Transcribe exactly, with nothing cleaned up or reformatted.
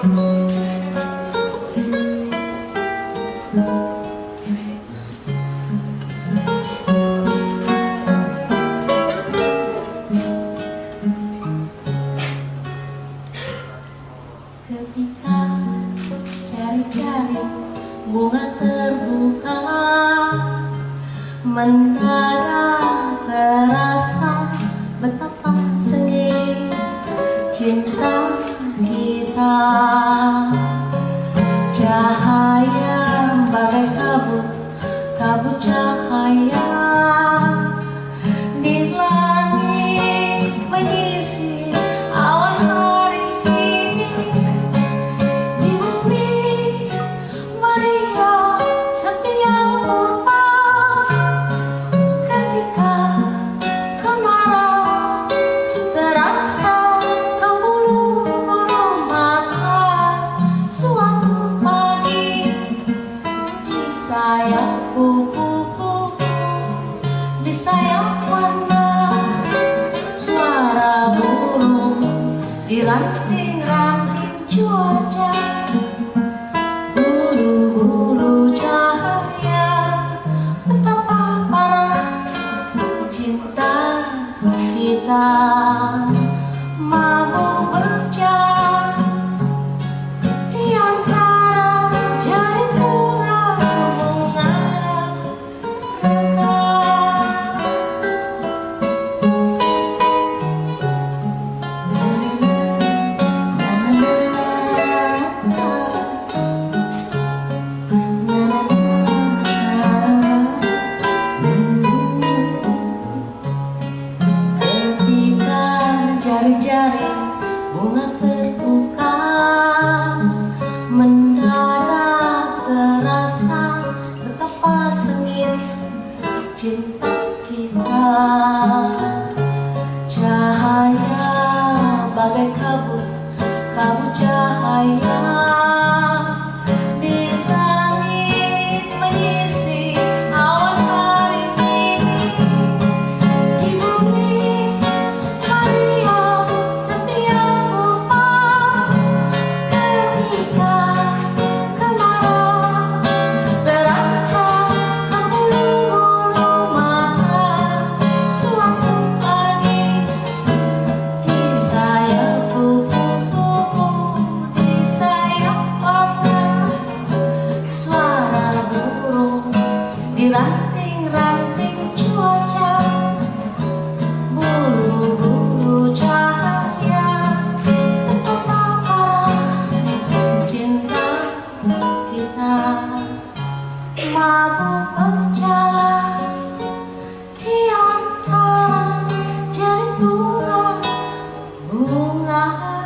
Ketika cari-cari bunga terbuka, mendadak terasa betapa seni cinta kita. Cahaya bagai kabut, kabut cahaya di langit mengisi awan hari ini. Di bumi meriah sepi yang purba, ketika kemarau terasa ke bulu-bulu mata. Suatu pagi di sayap kupu-kupu, di sayap warna, suara burung di ranting-ranting cuaca. Bulu-bulu cahaya, betapa parah cinta kita. Mabuk berjalan di antara jari bunga-bunga rekah. Ketika jari-jari bunga terbuka, mendadak terasa betapa sengit cinta kita. Cahaya bagai kabut, kabut cahaya di langit mengisi awan hari ini. Di bumi meriah sepi yang purba, ketika kemarau terasa ke bulu-bulu mata. Suatu pagi di sayap kupu-kupu, di sayap warna, suara burung di ranting-ranting cuaca. Bulu-bulu cahaya, betapa parah cinta kita. Mabuk berjalan di antara jari bunga-bunga